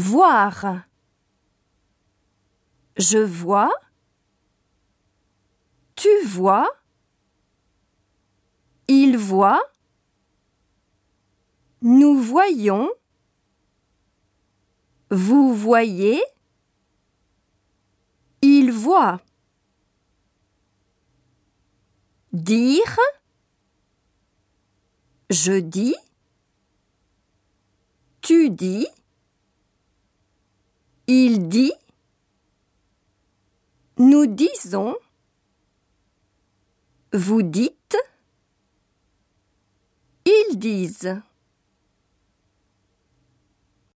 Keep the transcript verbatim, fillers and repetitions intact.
Voir. Je vois. Tu vois. Il voit. Nous voyons. Vous voyez. Il voit. Dire. Je dis. Tu dis. Il dit. Nous disons. Vous dites. Ils disent.